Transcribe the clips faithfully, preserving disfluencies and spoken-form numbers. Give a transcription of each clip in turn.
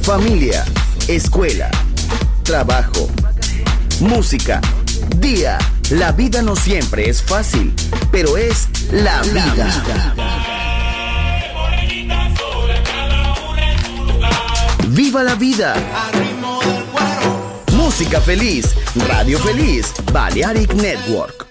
familia, escuela, trabajo, música, día. La vida no siempre es fácil, pero es la vida. ¡Viva la vida! Música feliz, radio feliz, Balearic Network.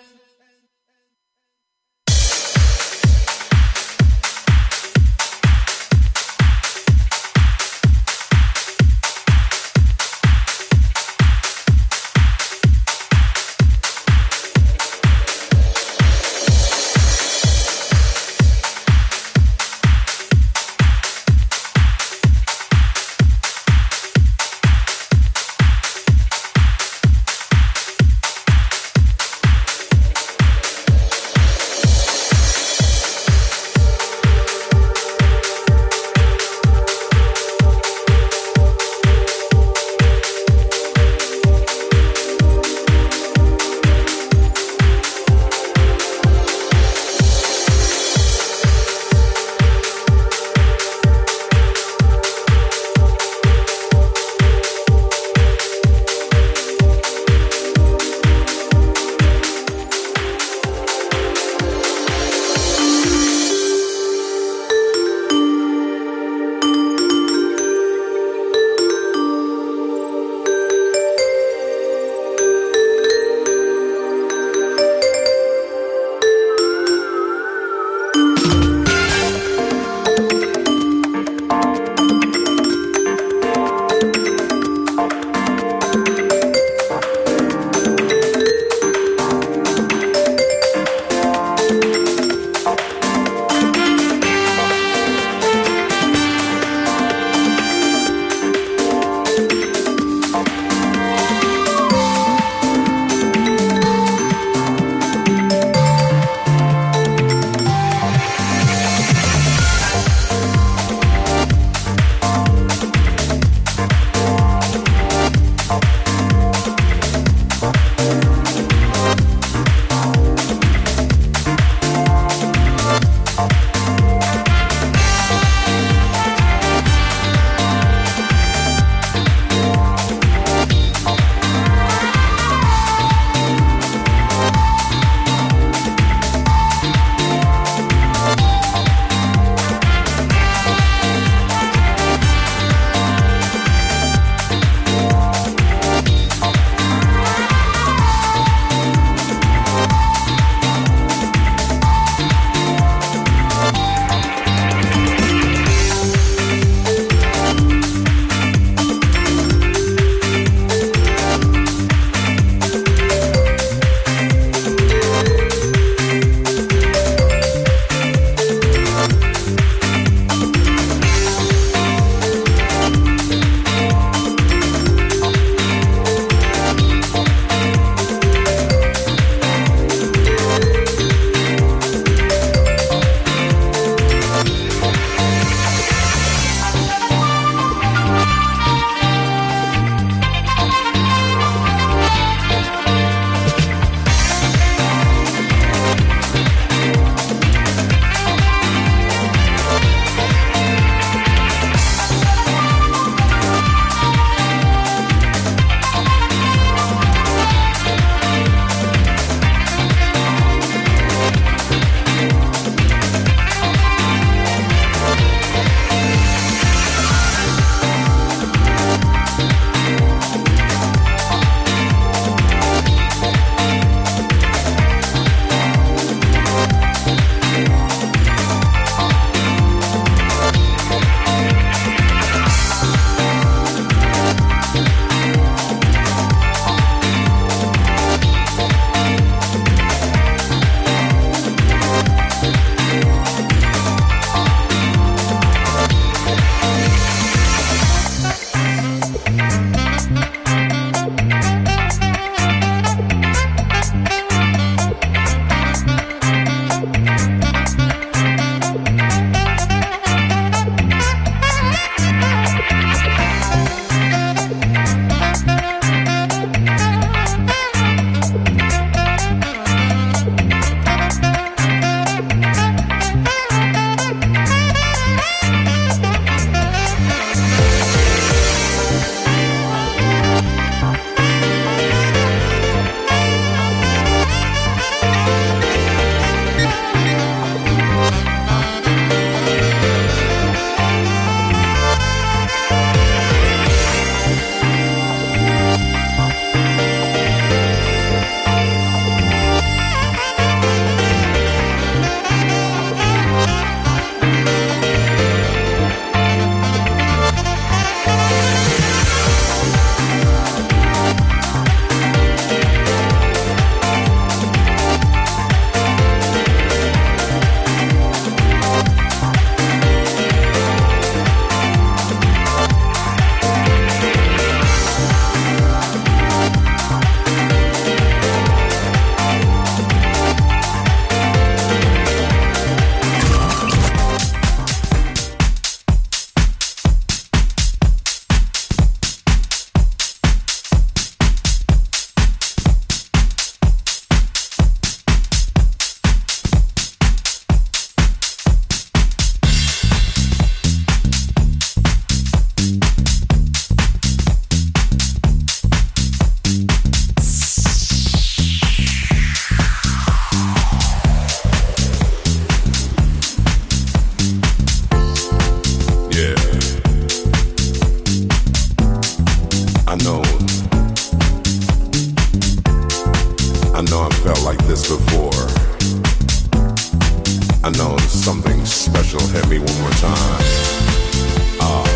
time. Ah,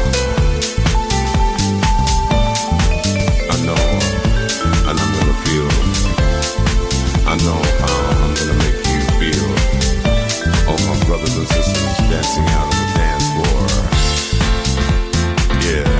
I know, and I'm gonna feel. I know how I'm gonna make you feel. All my brothers and sisters dancing out on the dance floor. Yeah.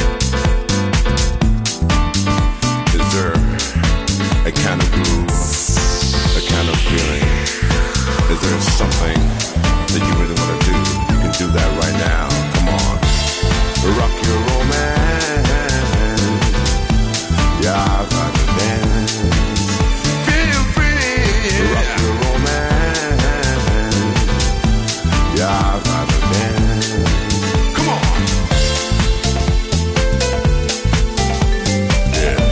Is there a kind of groove, a kind of feeling? Is there something that you really want to do? You can do that right now. Come on. Rock your romance. Yeah, I've got to dance. Feel free. Rock your romance. Yeah, I've got to dance. Come on. Yeah.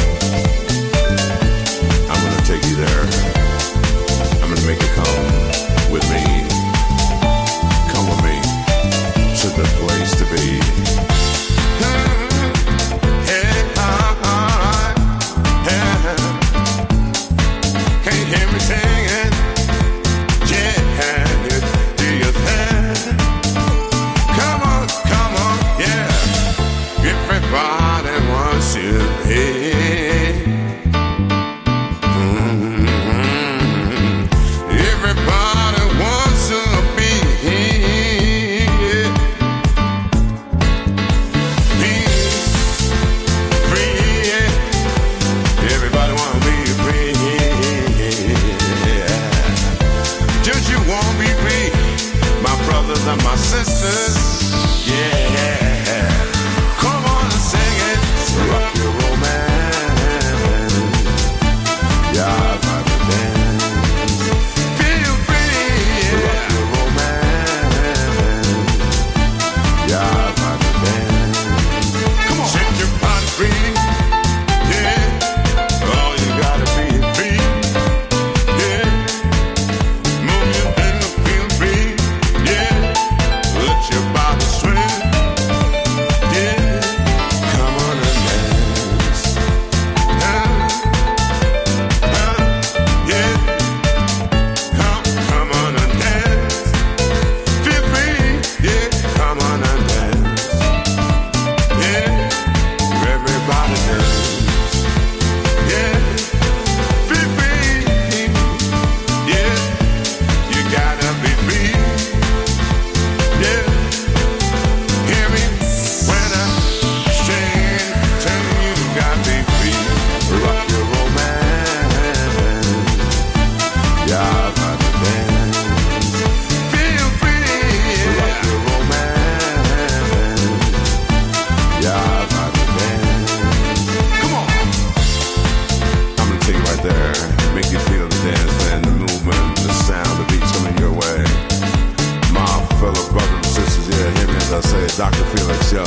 I'm gonna take you there. I'm gonna make you come with me. Come with me to the place to be. Hey, uh, uh, hey. Can't hear me singing. Yeah, do you think? Come on, come on, yeah. Everybody wants you here. Mm-hmm. Everybody wants to be here. Peace, free, yeah. Everybody wanna be free. Yeah. Just you wanna be free, my brothers and my sisters. Yeah. Come on and sing it. Rock your romance. Yeah, I've got to dance. Feel free. Rock your romance. Yeah, I've got to dance. Come on. Set your body free. Yeah. Oh, you gotta be free. Yeah. Move your finger, feel free. Yeah. Let your body swing. Yeah. Come on and dance. Huh? Huh? Yeah. Come, come on and dance. Feel free. Yeah. Come on and dance. Yeah. Everybody dance. Yeah. Feel free. Yeah. You gotta be free. Yeah. Hear me when I sing. Tell you you gotta be free. Rock your romance. Yeah, I've got to dance. Feel free. Rock your romance. Yeah, I've got to dance. Come on. I'm gonna take you right there. Make you feel the dance and the movement, the sound, the beats coming your way. My fellow brothers and sisters, yeah, hear me as I say, Doctor Felix Show.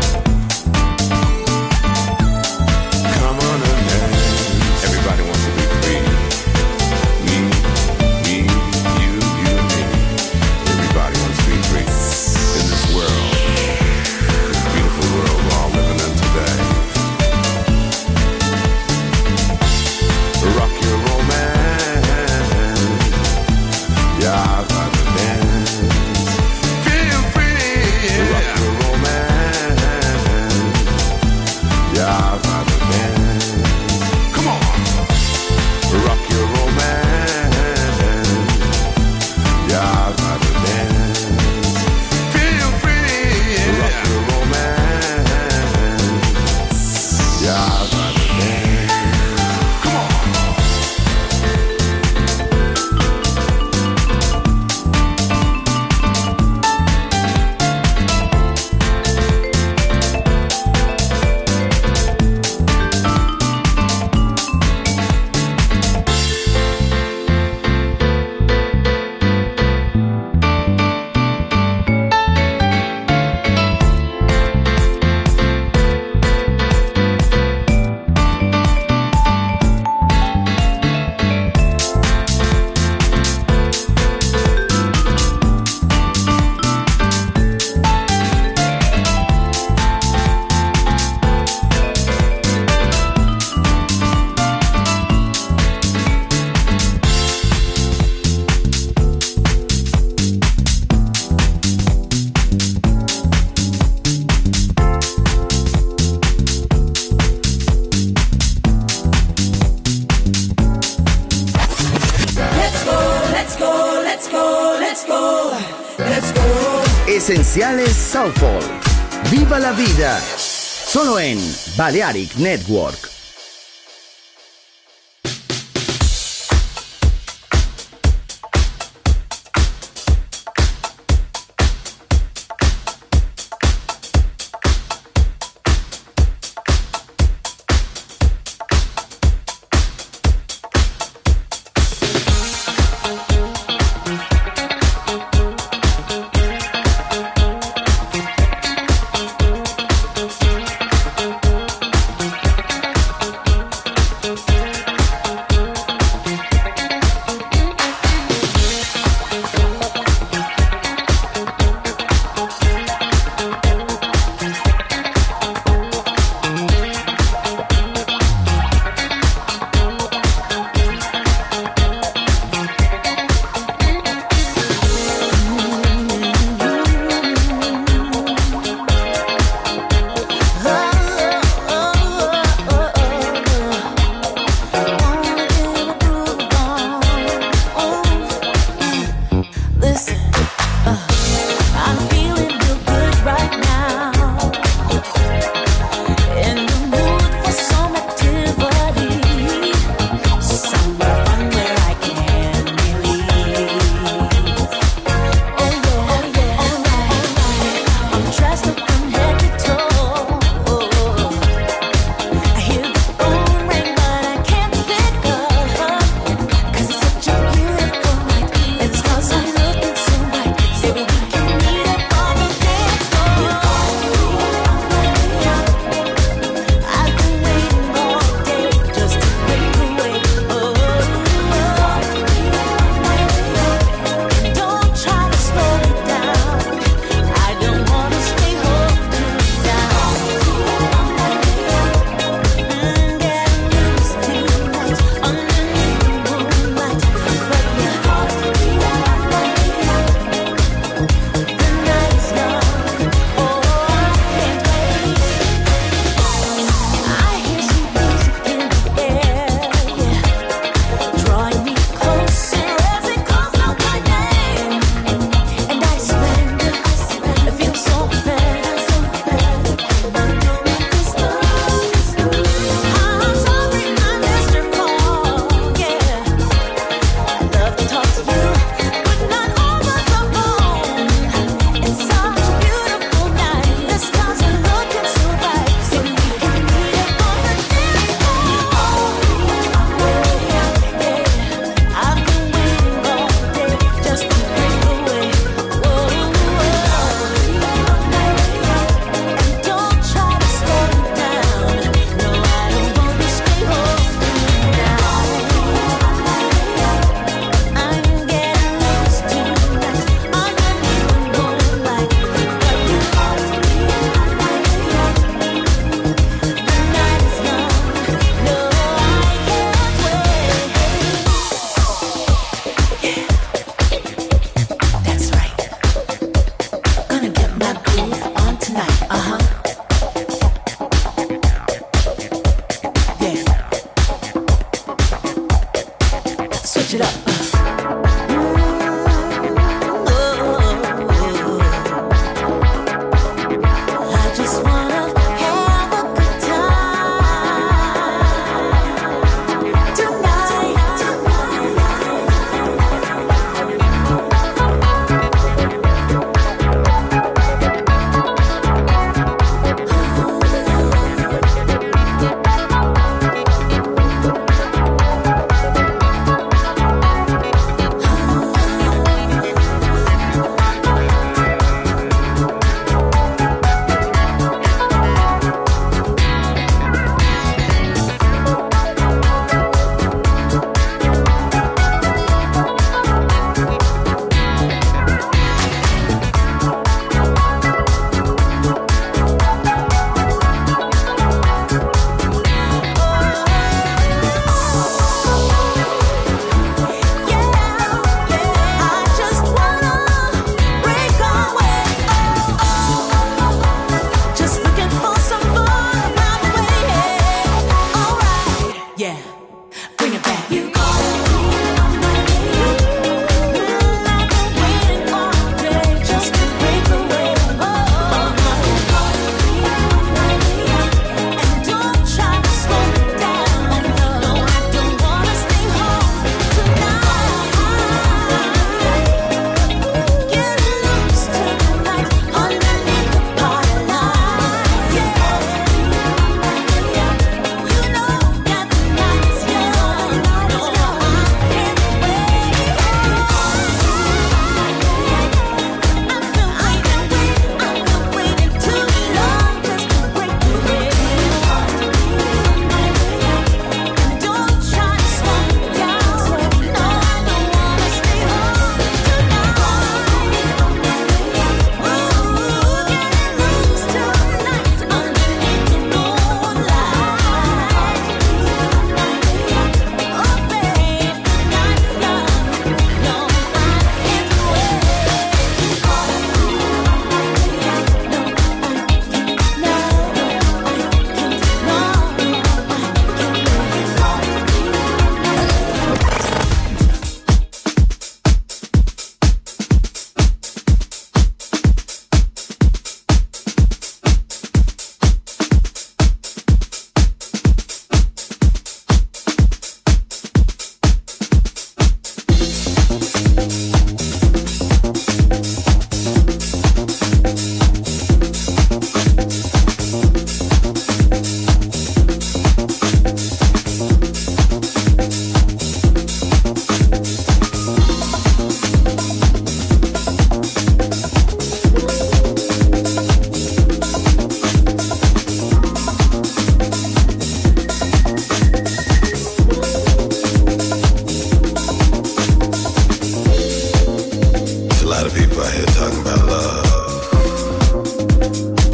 Come on and dance. Everybody wants to be free. Me, me, you, you and me. Everybody wants to be free in this world, this beautiful world we're all living in today. Rock your romance. Yeah, I've got to dance. Feel free. Rock your romance. Esenciales Soulful. Viva la vida. Solo en Balearic Network.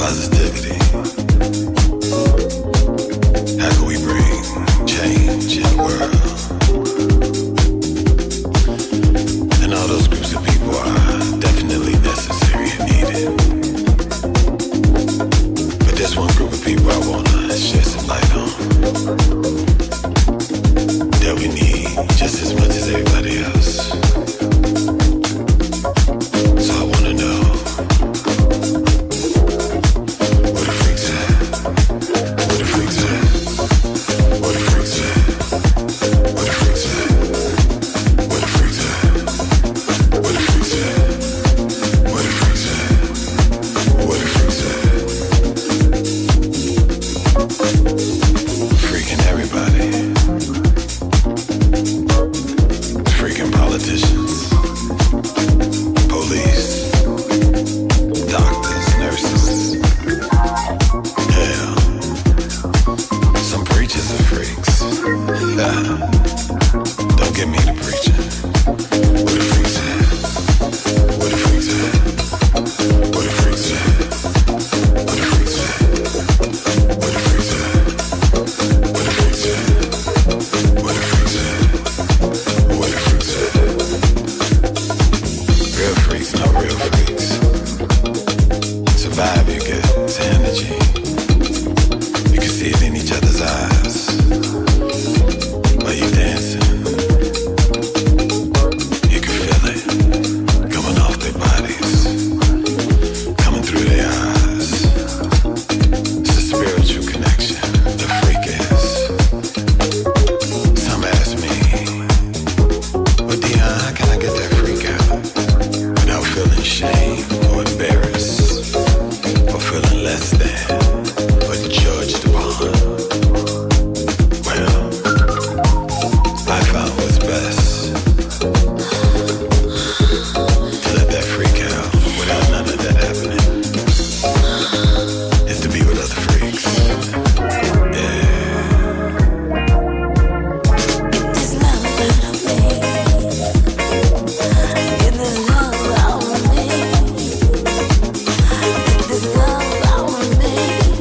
positivity. How can we bring change in the world? And all those groups of people are definitely necessary and needed. But there's one group of people I want to shed some light on that we need just as much as everybody else. So I want to know, where the freaks at? Where the freaks at? Where the freaks at? Where the freaks at? Where the freaks at? Where the freaks at? Where the freaks at? Where the freaks at? Freaking everybody. Freaking politicians, police, doctors, nurses. Hell, some preachers are freaks. Don't get me to preaching. Where the freaks at? Where the freaks at? Where the freaks at? Where the freaks at? Where the freaks at? Where the freaks at? Where the freaks at? Where the freaks at? Real freaks, not real freaks. Survive, you get to energy. You can see it in each other's eyes while you dancing. You can feel it coming off their bodies, coming through their eyes. It's a spiritual connection, the freak is. Some ask me, well, Dion, how can I get that freak out without feeling shame or embarrassed or feeling less than or judged upon? Well, I found what's best to let that freak out without none of that happening is to be with other freaks. Yeah. This love that I made, get this love out of me. This love out of me.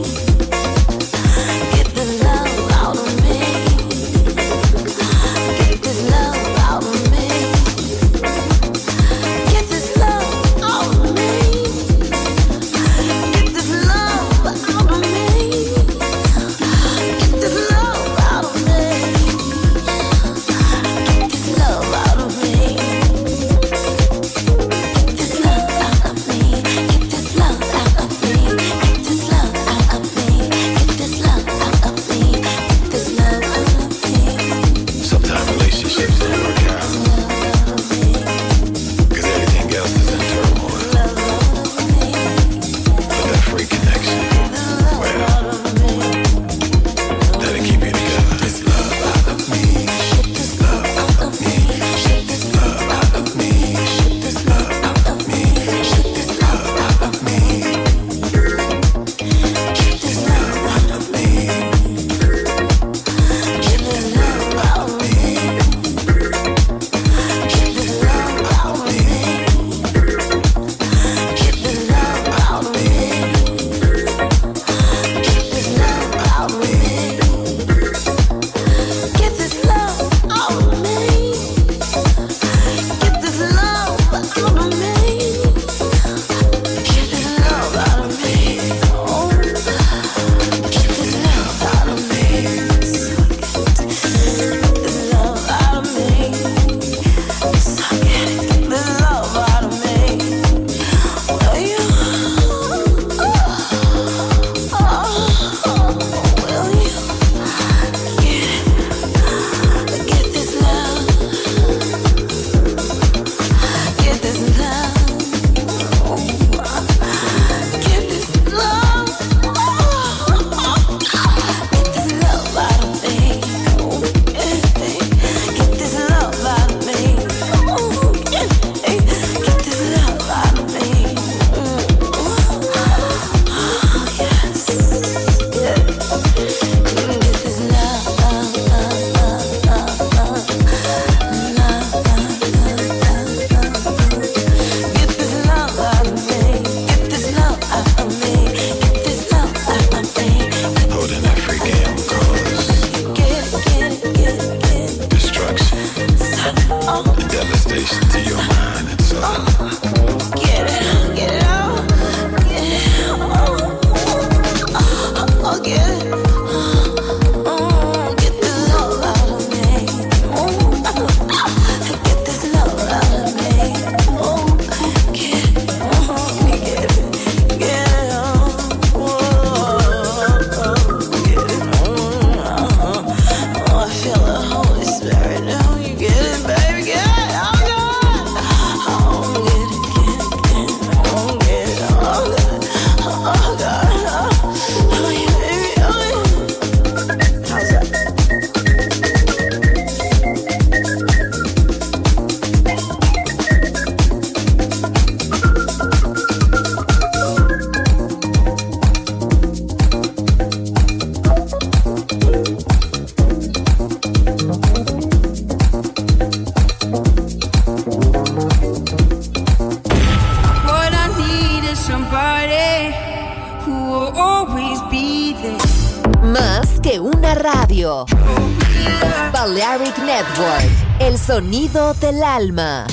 always be there. Más que una radio. Balearic Network, el sonido del alma.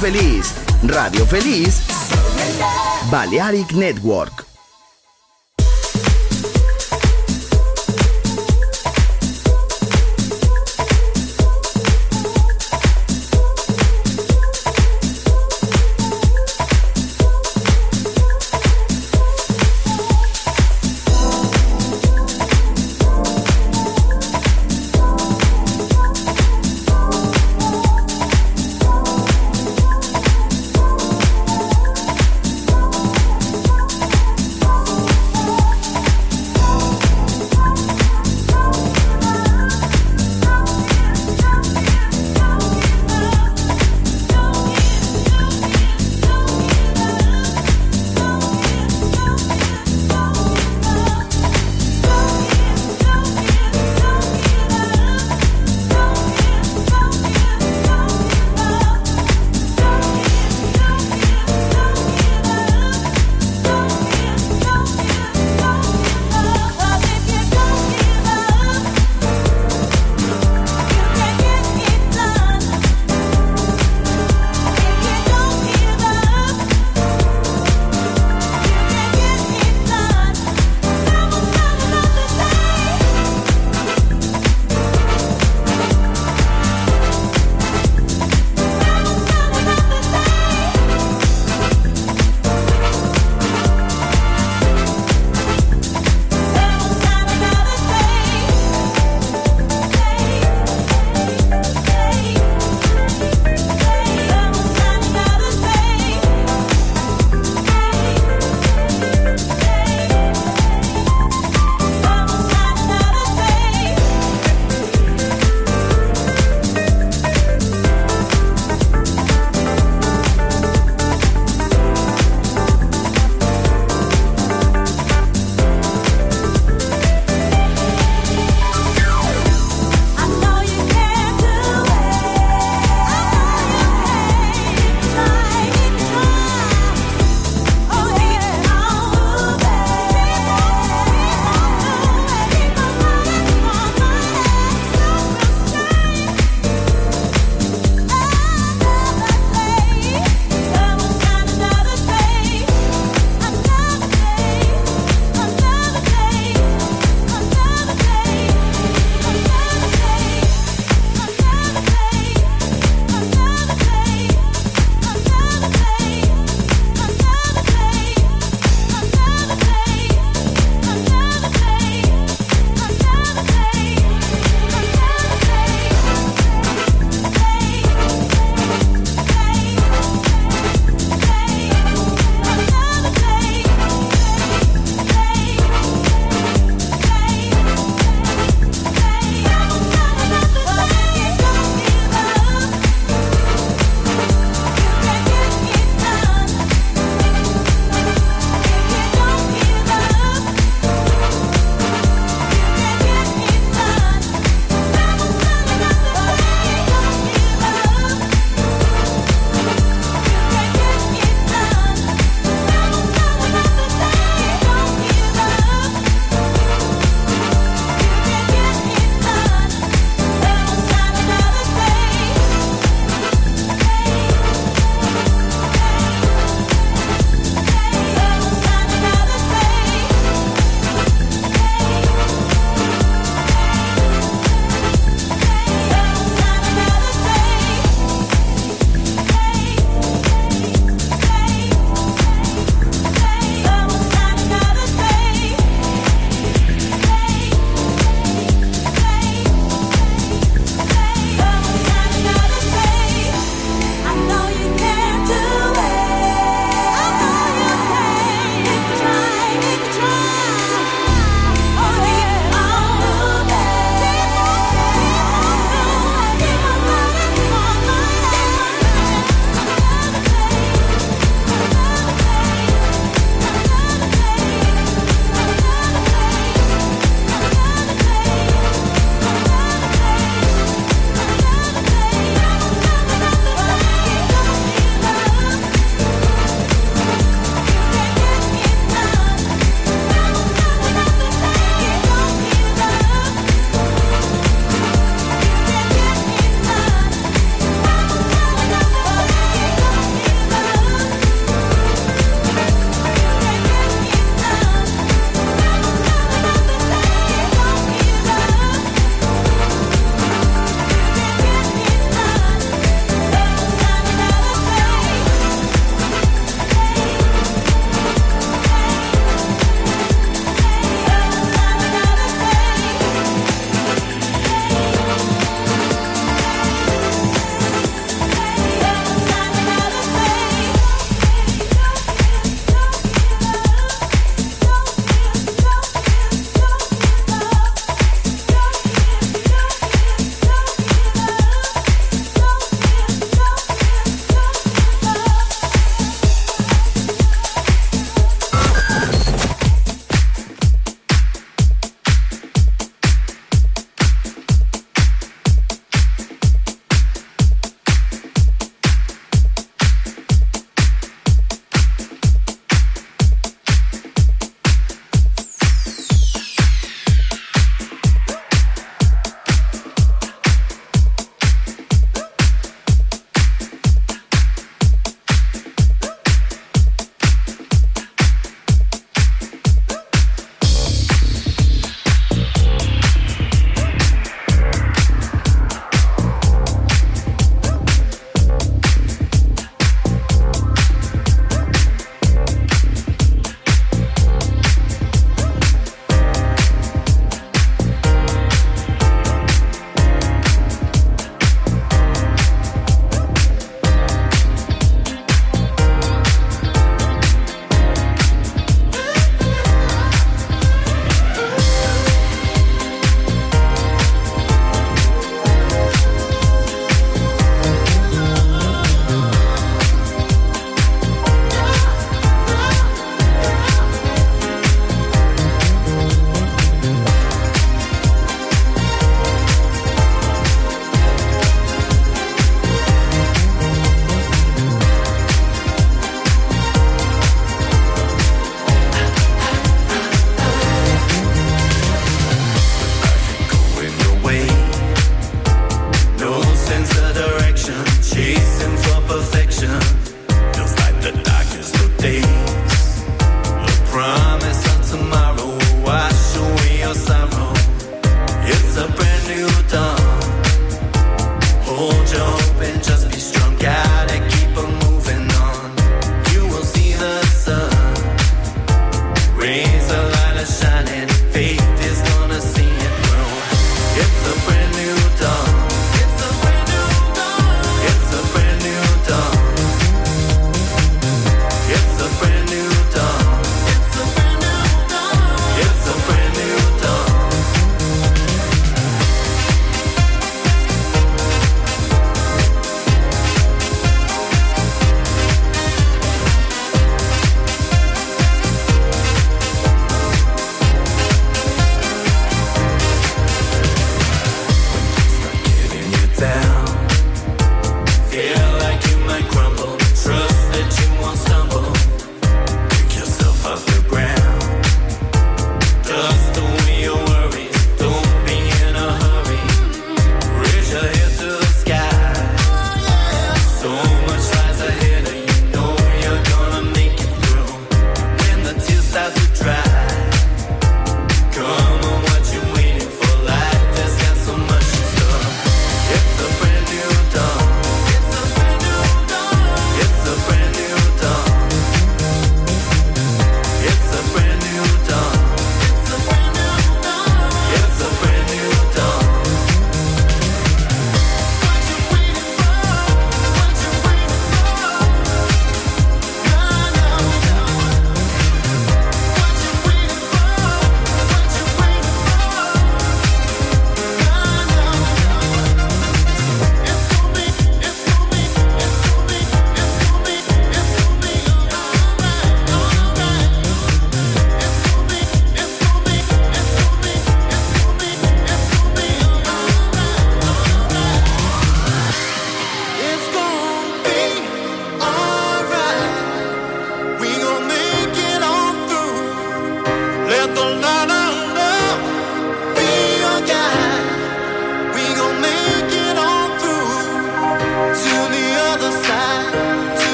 feliz, radio feliz, Balearic Network.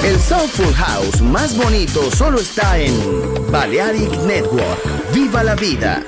El Soulful House más bonito solo está en Balearic Network. ¡Viva la vida!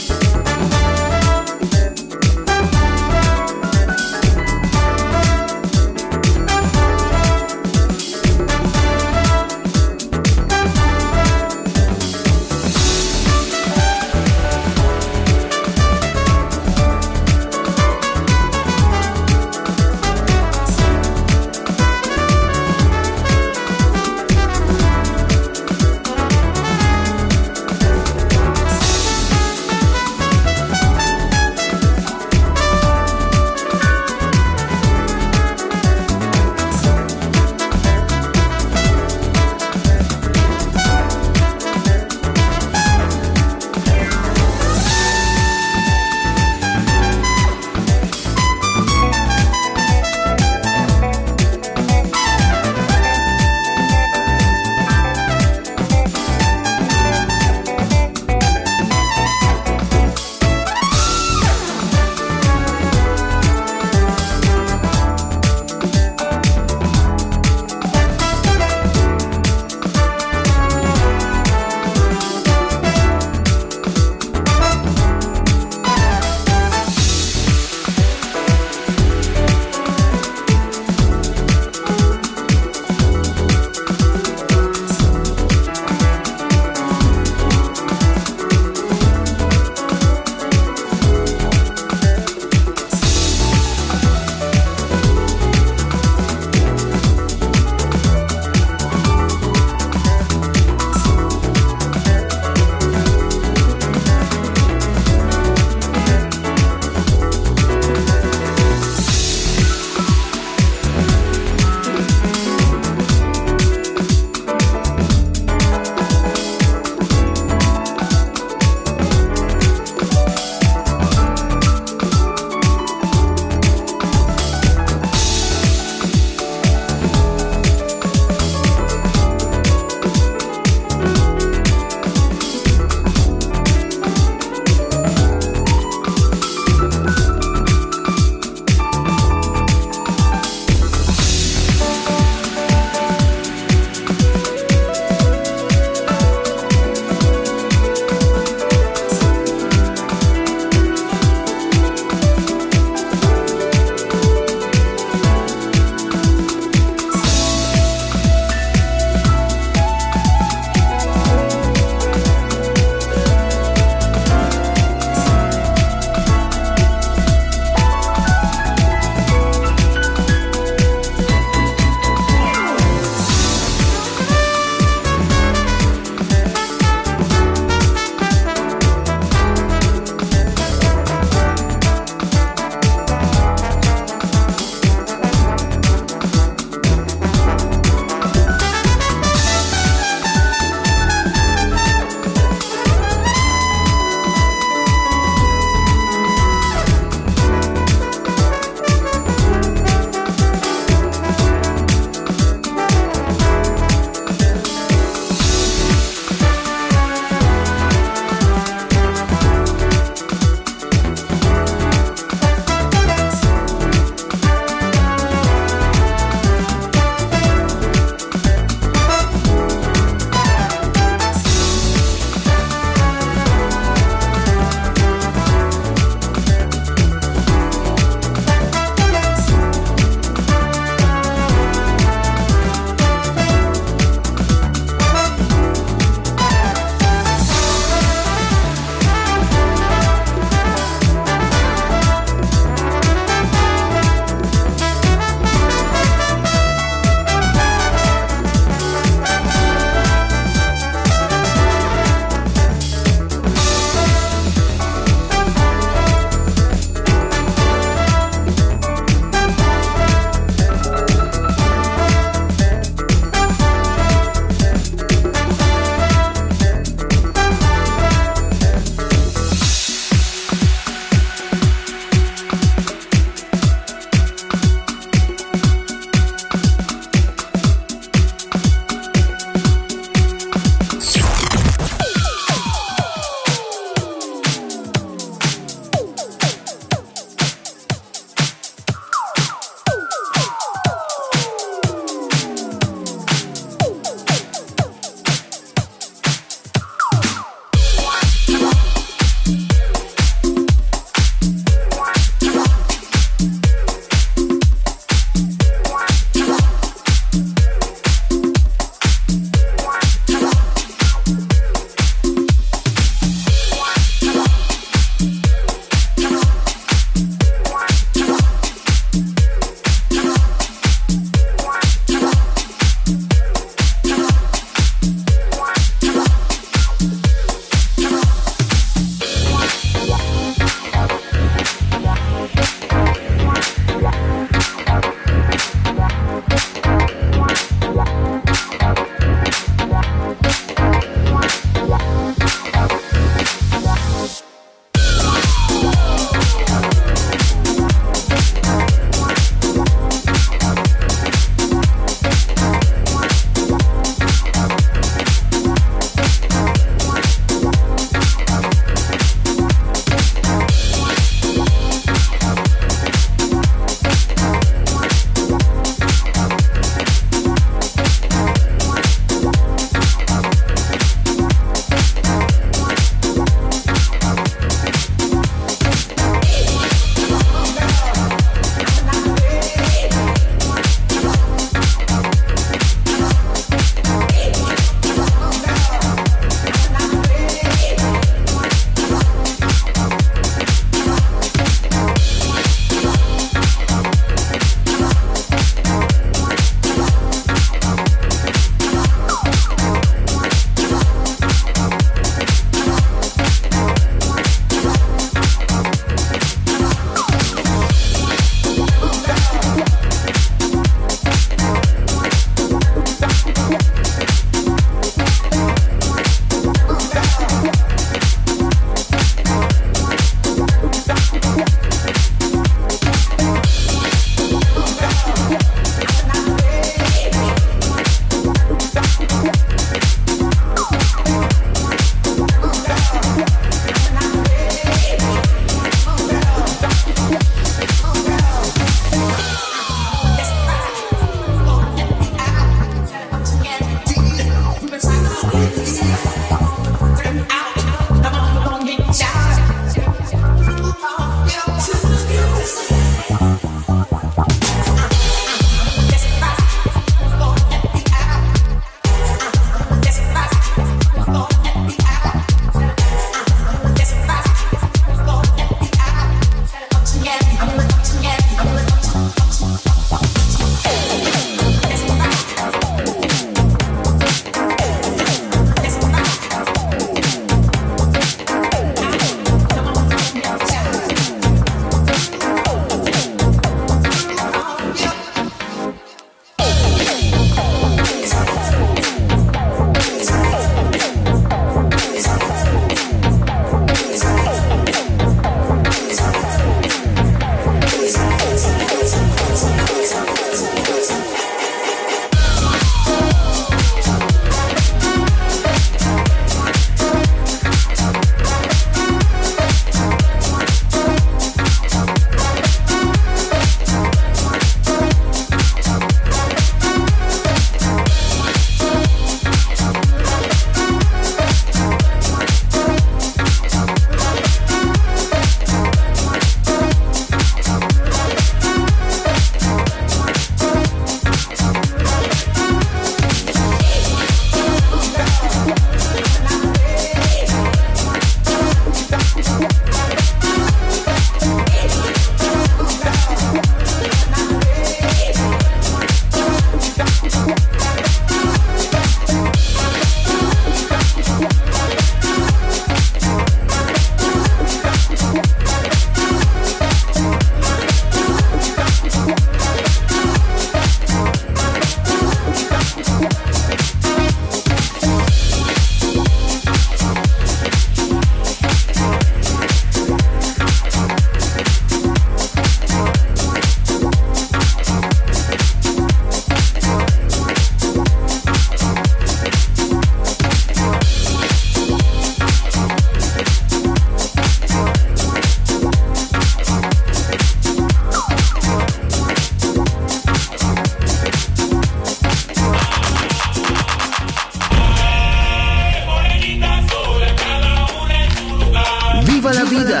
vida.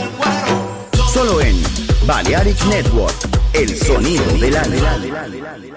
Solo en Balearic Network, el sonido del alma.